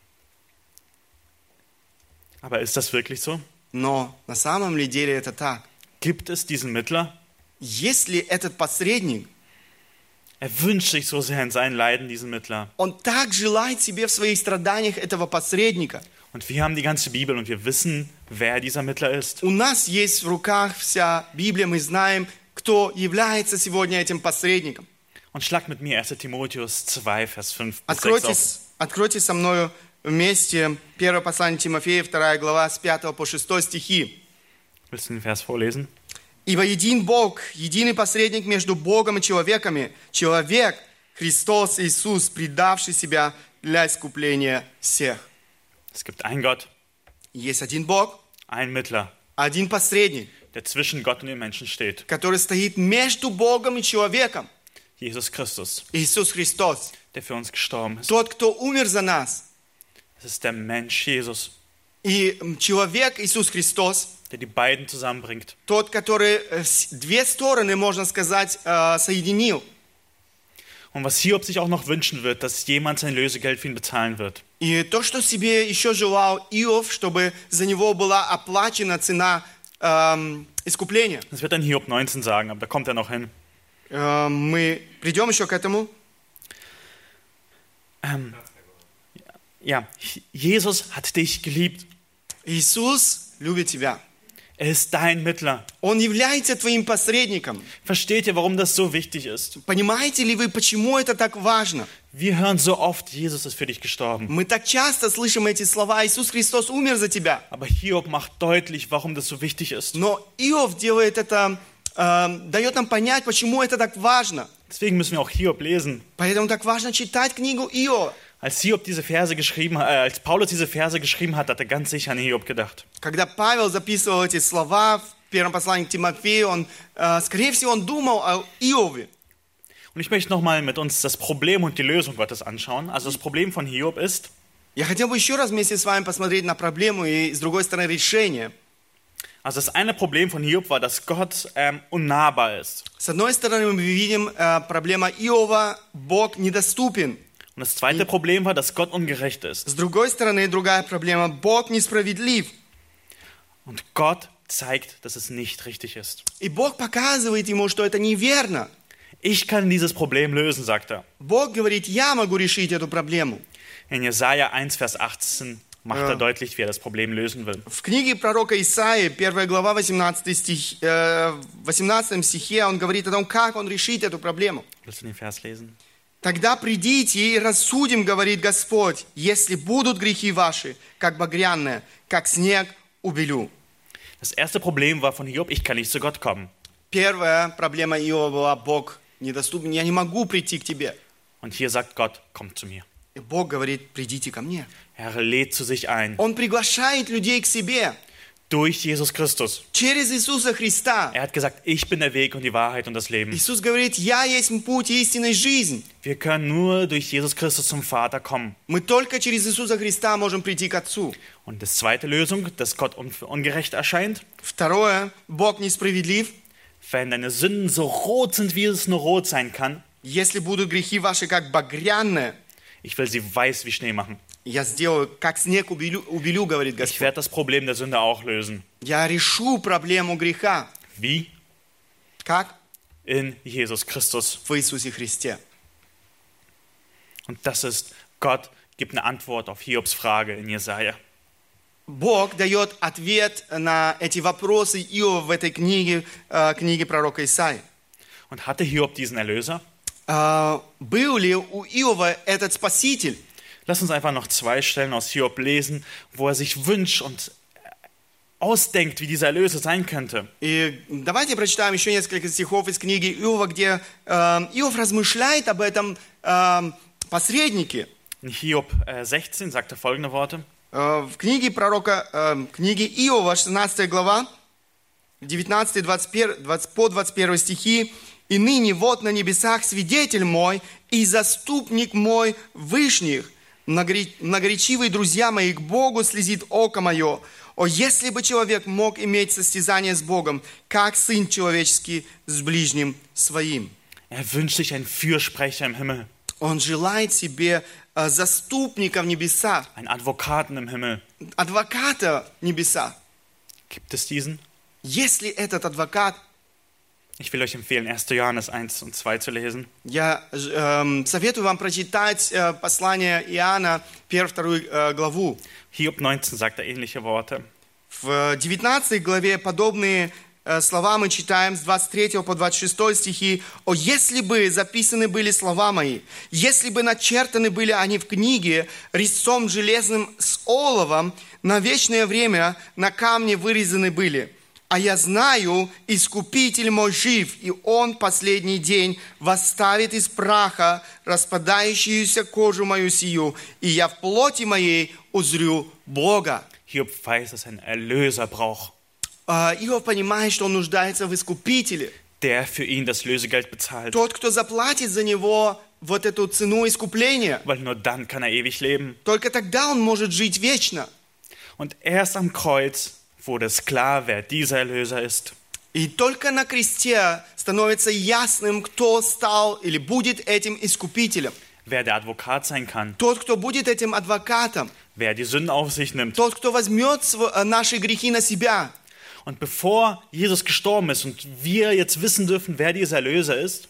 Aber ist das wirklich so? Но на самом ли деле это так? Gibt es diesen Mittler? Если этот посредник, Er wünscht sich so sehr in seinen Leiden diesen Mittler. он так желает себе в своих страданиях этого посредника. Und wir haben die ganze Bibel und wir wissen, wer dieser Mittler ist. У нас есть в руках вся Библия, мы знаем, кто является сегодня этим посредником. Und schlag mit mir 1. Timotheus 2, Vers 5 bis 6 auf. Откройте со мною вместе первое послание Тимофея, 2 глава, с 5 по 6 стихи. Willst du den Vers vorlesen? «Ибо един Бог, единый посредник между Богом и человеками, человек, Христос Иисус, предавший себя для искупления всех». Es gibt einen Gott, Есть один Бог, einen Mittler, один посредник, der zwischen Gott und den Menschen steht. который стоит между Богом и человеком. Jesus Christus, Иисус Христос, der für uns gestorben ist. тот, кто умер за нас. Das ist der Mensch Jesus, И человек Иисус Христос, der die beiden zusammenbringt. тот, который две стороны, можно сказать, соединил. Und was Hiob sich auch noch wünschen wird, dass jemand sein Lösegeld für ihn bezahlen wird. И то, что себе еще желал Иов, чтобы за него была оплачена цена искупления. Das wird dann Hiob 19 sagen, aber da kommt er noch hin. Мы придем еще к этому. Ja, Jesus hat dich geliebt. Иисус любит тебя. Er ist dein Mittler. Он является твоим посредником. Versteht ihr, warum das so wichtig ist? Понимаете ли вы, почему это так важно? Wir hören so oft, Jesus ist für dich gestorben. Мы так часто слышим эти слова: Иисус Христос умер за тебя. Aber Hiob macht deutlich, warum das so wichtig ist. Но Иов делает это, дает нам понять, почему это так важно. Deswegen müssen wir auch Hiob lesen. Поэтому так важно читать книгу Иова. Als Paulus diese Verse geschrieben hat, hat er ganz sicher an Hiob gedacht. Когда Павел записывал эти слова в первом послании к Тимофею, он, скорее всего, он думал о Иове. Und ich möchte nochmal mit uns das Problem und die Lösung Gottes anschauen. Also das Problem von Hiob ist, Я хотел бы еще раз вместе с вами посмотреть на проблему и, с другой стороны, решение. also das eine Problem von Hiob war, dass Gott unnahbar ist. С одной стороны, мы видим проблема Иова, Бог недоступен. Und das zweite Problem war, dass Gott ungerecht ist. С другой стороны, другая проблема, Бог несправедлив. Und Gott zeigt, dass es nicht richtig ist. И Бог показывает ему, что это неверно. Ich kann dieses Problem lösen, sagt er. Бог говорит: я могу решить эту проблему. In Jesaja 1, Vers 18 macht er deutlich, wie er das Problem lösen will. В книге пророка Исаии, 1 глава, 18 стихе, он говорит о том, как он решит эту проблему. Willst du den Vers lesen? «Тогда придите и рассудим, говорит Господь, если будут грехи ваши, как багряные, как снег убелю». Das erste Problem war von Hiob, ich kann nicht zu Gott kommen. Первая проблема Иова была: Бог недоступен, я не могу прийти к тебе. Und hier sagt Gott, kommt zu mir. И Бог говорит: придите ко мне. Er lädt zu sich ein. Он приглашает людей к себе Durch Jesus Christus. через Иисуса Христа. Er hat gesagt, ich bin der Weg und die Wahrheit und das Leben. Иисус говорит: я есть путь, истина и жизнь. Wir können nur durch Jesus Christus zum Vater kommen. Мы только через Иисуса Христа можем прийти к Отцу. Und die zweite Lösung, dass Gott ungerecht erscheint, Второе, Бог несправедлив. wenn deine Sünden so rot sind, wie es nur rot sein kann, Если будут грехи ваши, как багряные, ich will sie weiß wie Schnee machen. я сделаю, как снег убелю, говорит Ich Господь. werde das Problem der Sünde auch lösen. Я решу проблему греха. Wie? Как? In Jesus Christus. В Иисусе Христе. Und das ist, Gott gibt eine Antwort auf Hiobs Frage in Jesaja. Бог дает ответ на эти вопросы Иова в этой книге, книге пророка Исаии. Und hatte Hiob diesen Erlöser? Был ли у Иова этот Спаситель? Lass uns einfach noch 2 Stellen aus Hiob lesen, wo er sich wünscht und ausdenkt, wie dieser Erlöser sein könnte. И давайте прочитаем еще несколько стихов из книги Иова, где Иов размышляет об этом посреднике. In Hiob 16 sagt er folgende Worte. В книге пророка, книге Иова, 16 глава, 19 по 21 стихи. «И ныне вот на небесах свидетель мой и заступник мой вышних, многоречивые друзья мои, к Богу слезит око мое. О, если бы человек мог иметь состязание с Богом, как Сын Человеческий с ближним своим». Er wünscht sich einen Fürsprecher im Himmel, Он желает себе заступника в небесах, einen Advokaten im Himmel. адвоката в небесах. Gibt es diesen? Есть ли этот адвокат? Ich will euch empfehlen, 1. Johannes 1 und 2 zu lesen. Я советую вам прочитать послание Иоанна, 1-2 главу. Hiob 19 sagt er ähnliche Worte. В 19 главе подобные слова мы читаем с 23 по 26 стихи. «О, если бы записаны были слова мои, если бы начертаны были они в книге резцом железным с оловом, на вечное время на камне вырезаны были. А я знаю, Искупитель мой жив, и Он последний день восставит из праха распадающуюся кожу мою сию, и я в плоти моей узрю Бога». Hiob weiß, dass er einen Erlöser braucht, Иов понимает, что он нуждается в Искупителе. der für ihn das Lösegeld bezahlt. Тот, кто заплатит за него вот эту цену искупления. Weil nur dann kann er ewig leben. Только тогда он может жить вечно. Und erst am Kreuz wurde es klar, wer dieser Erlöser ist. И только на кресте становится ясным, кто стал или будет этим Искупителем. Wer der Advokat sein kann. Тот, кто будет этим адвокатом. Wer die Sünden auf sich nimmt. Тот, кто возьмет наши грехи на себя. Und bevor Jesus gestorben ist und wir jetzt wissen dürfen, wer dieser Erlöser ist,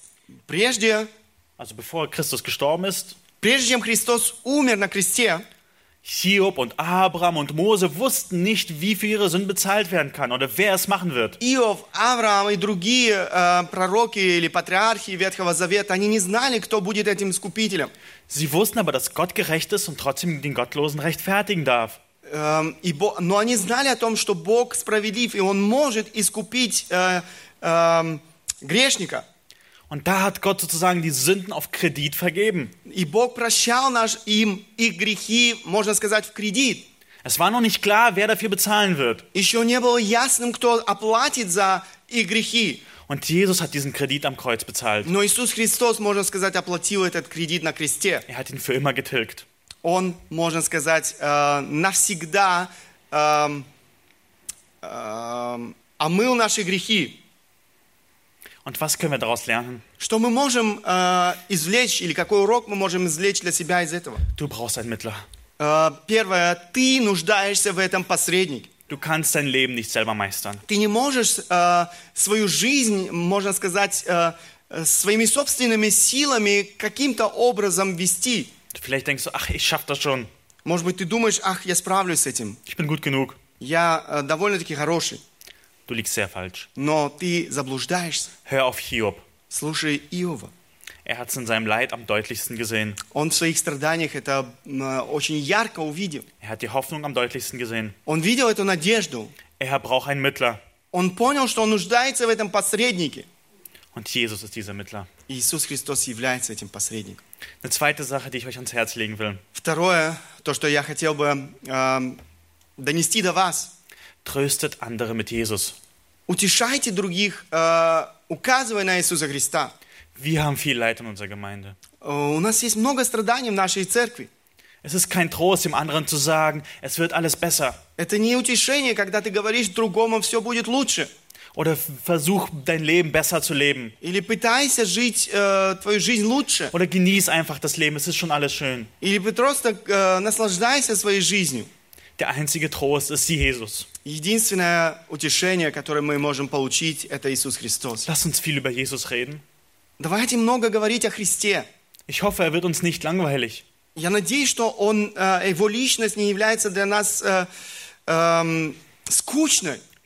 also bevor Christus gestorben ist, прежде чем Христос умер на кресте, Hiob und Abraham und Mose wussten nicht, wie für ihre Sünden bezahlt werden kann oder wer es machen wird. Иов, Авраам и другие пророки или патриархи Ветхого Завета, они не знали, кто будет этим искупителем. Sie wussten aber, dass Gott gerecht ist und trotzdem den Gottlosen rechtfertigen darf. Но они знали о том, что Бог справедлив, и Он может искупить грешника. Und da hat Gott sozusagen die Sünden auf Kredit vergeben. И Бог прощал им их грехи, можно сказать, в кредит. Es war noch nicht klar, wer dafür bezahlen wird. Еще не было ясным, кто оплатит за их грехи. Und Jesus hat diesen Kredit am Kreuz bezahlt. Но Иисус Христос, можно сказать, оплатил этот кредит на кресте. Er hat ihn für immer getilgt. Он, можно сказать, навсегда омыл наши грехи. Und was können wir daraus lernen? Что мы можем извлечь, или какой урок мы можем извлечь для себя из этого? Du brauchst einen Mittler. Первое, ты нуждаешься в этом посреднике. Du kannst dein Leben nicht selber meistern. Ты не можешь свою жизнь, можно сказать, своими собственными силами каким-то образом вести. Vielleicht denkst du, ach, ich schaff das schon. Может быть, ты думаешь, ach, я справлюсь с этим. Ich bin gut genug. Я довольно-таки хороший. Du liegst sehr falsch. Но ты заблуждаешься. Hör auf Hiob. Слушай Иова. Er hat es in seinem Leid am deutlichsten gesehen. Он в своих страданиях это очень ярко увидел. Er hat die Hoffnung am deutlichsten gesehen. Он видел эту надежду. Er braucht einen Mittler. Он понял, что он нуждается в этом посреднике. Und Jesus ist dieser Mittler. Иисус Христос является этим посредником. Eine zweite Sache, die ich euch ans Herz legen will. Второе, то, что я хотел бы донести до вас. Tröstet andere mit Jesus. Утешайте других, указывая на Иисуса Христа. Wir haben viel Leid in unserer Gemeinde. У нас есть много страданий в нашей церкви. Es ist kein Trost, dem anderen zu sagen, es wird alles besser. Это не утешение, когда ты говоришь другому, все будет лучше. Oder versuch, dein Leben besser zu leben. Или пытайся жить твою жизнь лучше. Oder genieß einfach das Leben, es ist schon alles schön. Или просто наслаждайся своей жизнью. Der einzige Trost ist Jesus. Единственное утешение, которое мы можем получить, это Иисус Христос. Lass uns viel über Jesus reden. Давайте много говорить о Христе. Ich hoffe, er wird uns nicht langweilig. Я надеюсь, что его личность не является для нас скучной.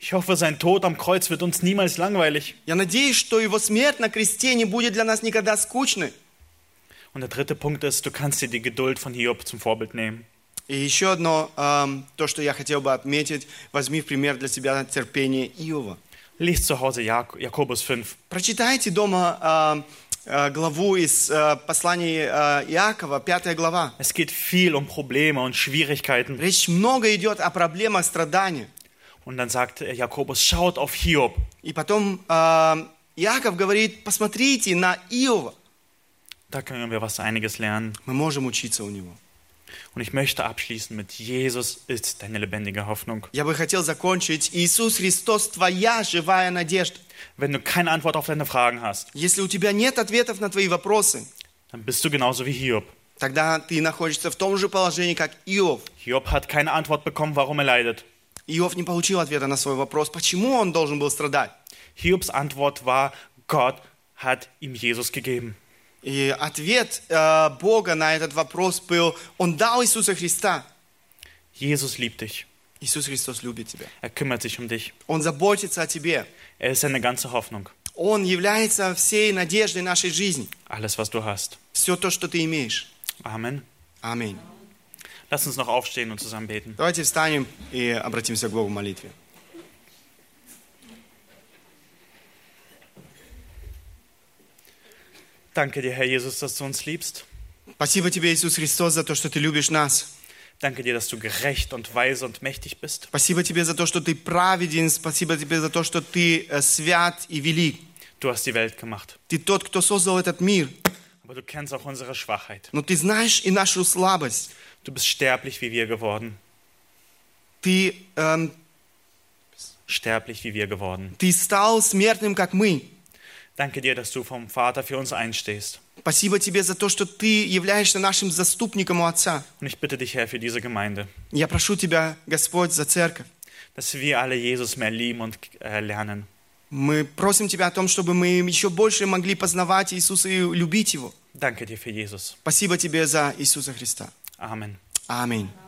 Ich hoffe, sein Tod am Kreuz wird uns niemals langweilig. Я надеюсь, что его смерть на кресте не будет для нас никогда скучной. Und der dritte Punkt ist, du kannst dir die Geduld von Hiob zum Vorbild nehmen. И еще одно, то, что я хотел бы отметить, возьми в пример для себя терпение Иова. Lies zu Hause Jakobus 5. Прочитайте дома главу из послания Иакова, 5 глава. Es geht viel um Probleme und Schwierigkeiten. Речь много идет о проблемах, страданиях. Und dann sagt Jakobus, schaut auf Hiob. И потом Иаков говорит, посмотрите на Иова. Da können wir einiges lernen. Мы можем учиться у него. Und ich möchte abschließen mit Jesus ist deine lebendige Hoffnung. Я бы хотел закончить. Иисус Христос, твоя живая надежда. Wenn du keine Antwort auf deine Fragen hast, Если у тебя нет ответов на твои вопросы, dann bist du genauso wie Hiob. тогда ты находишься в том же положении, как Иов. Hiob hat keine Antwort bekommen, warum er leidet. Иов не получил ответа на свой вопрос, почему он должен был страдать. Hiobs Antwort war, Gott hat ihm Jesus gegeben. И ответ Бога на этот вопрос был, Он дал Иисуса Христа. Jesus liebt dich. Иисус Христос любит тебя. Er kümmert sich um dich. Он заботится о тебе. Er ist deine ganze Hoffnung. Он является всей надеждой нашей жизни. Alles, was du hast. Все то, что ты имеешь. Amen. Аминь. Lass uns noch aufstehen und zusammen beten. Давайте встанем и обратимся к Богу в молитве. Danke dir, Herr Jesus, dass du uns liebst. Спасибо тебе, Иисус Христос, за то, что ты любишь нас. Danke dir, dass du gerecht und weise und mächtig bist. Спасибо тебе за то, что ты праведен. Спасибо тебе за то, что ты свят и велик. Du hast die Welt gemacht. Ты тот, кто создал этот мир. Aber du kennst auch unsere Schwachheit. Но ты знаешь и нашу слабость. Du bist sterblich wie wir geworden. Ты Sterblich wie wir geworden. стал смертным, как мы. Danke dir, dass du vom Vater für uns einstehst. Спасибо тебе за то, что ты являешься нашим заступником у Отца. Und ich bitte dich, Herr, für diese Gemeinde, Я прошу тебя, Господь, за церковь. dass wir alle Jesus mehr lieben und lernen. Мы просим тебя о том, чтобы мы еще больше могли познавать Иисуса и любить Его. Danke dir für Jesus. Спасибо тебе за Иисуса Христа. Amen. Аминь.